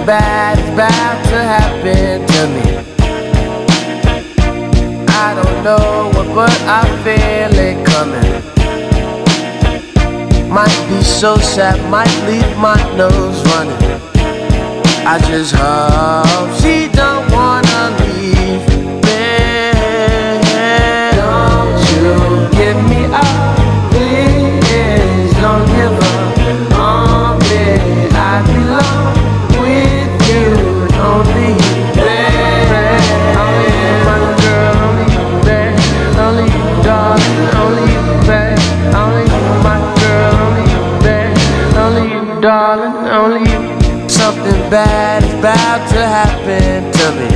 bad is about to happen to me. I don't know what, but I feel it coming. Might be so sad, might leave my nose running. I just hope she don't wanna leave me. Don't you give me up, please. Don't give up on me. I belong with you, only you, babe. Only you, my girl, only you, babe. Only you, darling, only you, babe. Only you, my girl, only you, babe. Only you, darling, only you. Something bad is about to happen to me.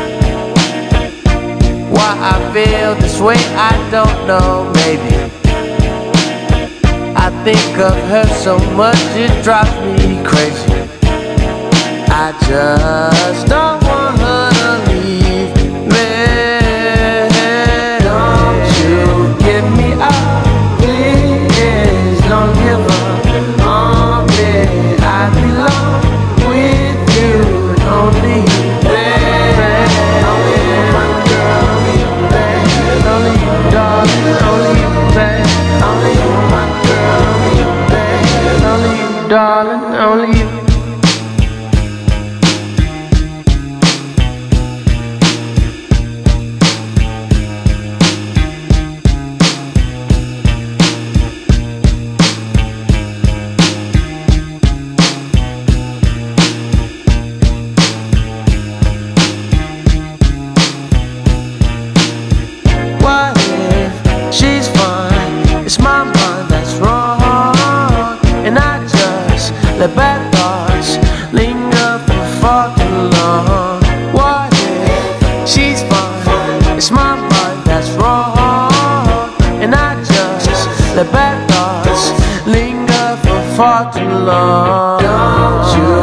Why I feel this way, I don't know, maybe. I think of her so much, it drives me crazy. I just don't want her to leave me. Don't you give me up, please. Don't give up on me. I belong with you, only you, babe. Only you, my girl, only you, babe. Only you, darling, only you, babe. Only you, my girl, only you, babe. Only you, darling, only you. What if she's fine? It's my mind that's wrong, and I just let bad thoughts linger for far too long. What if she's fine? It's my mind that's wrong, and I just let bad thoughts linger for far too long. Don't you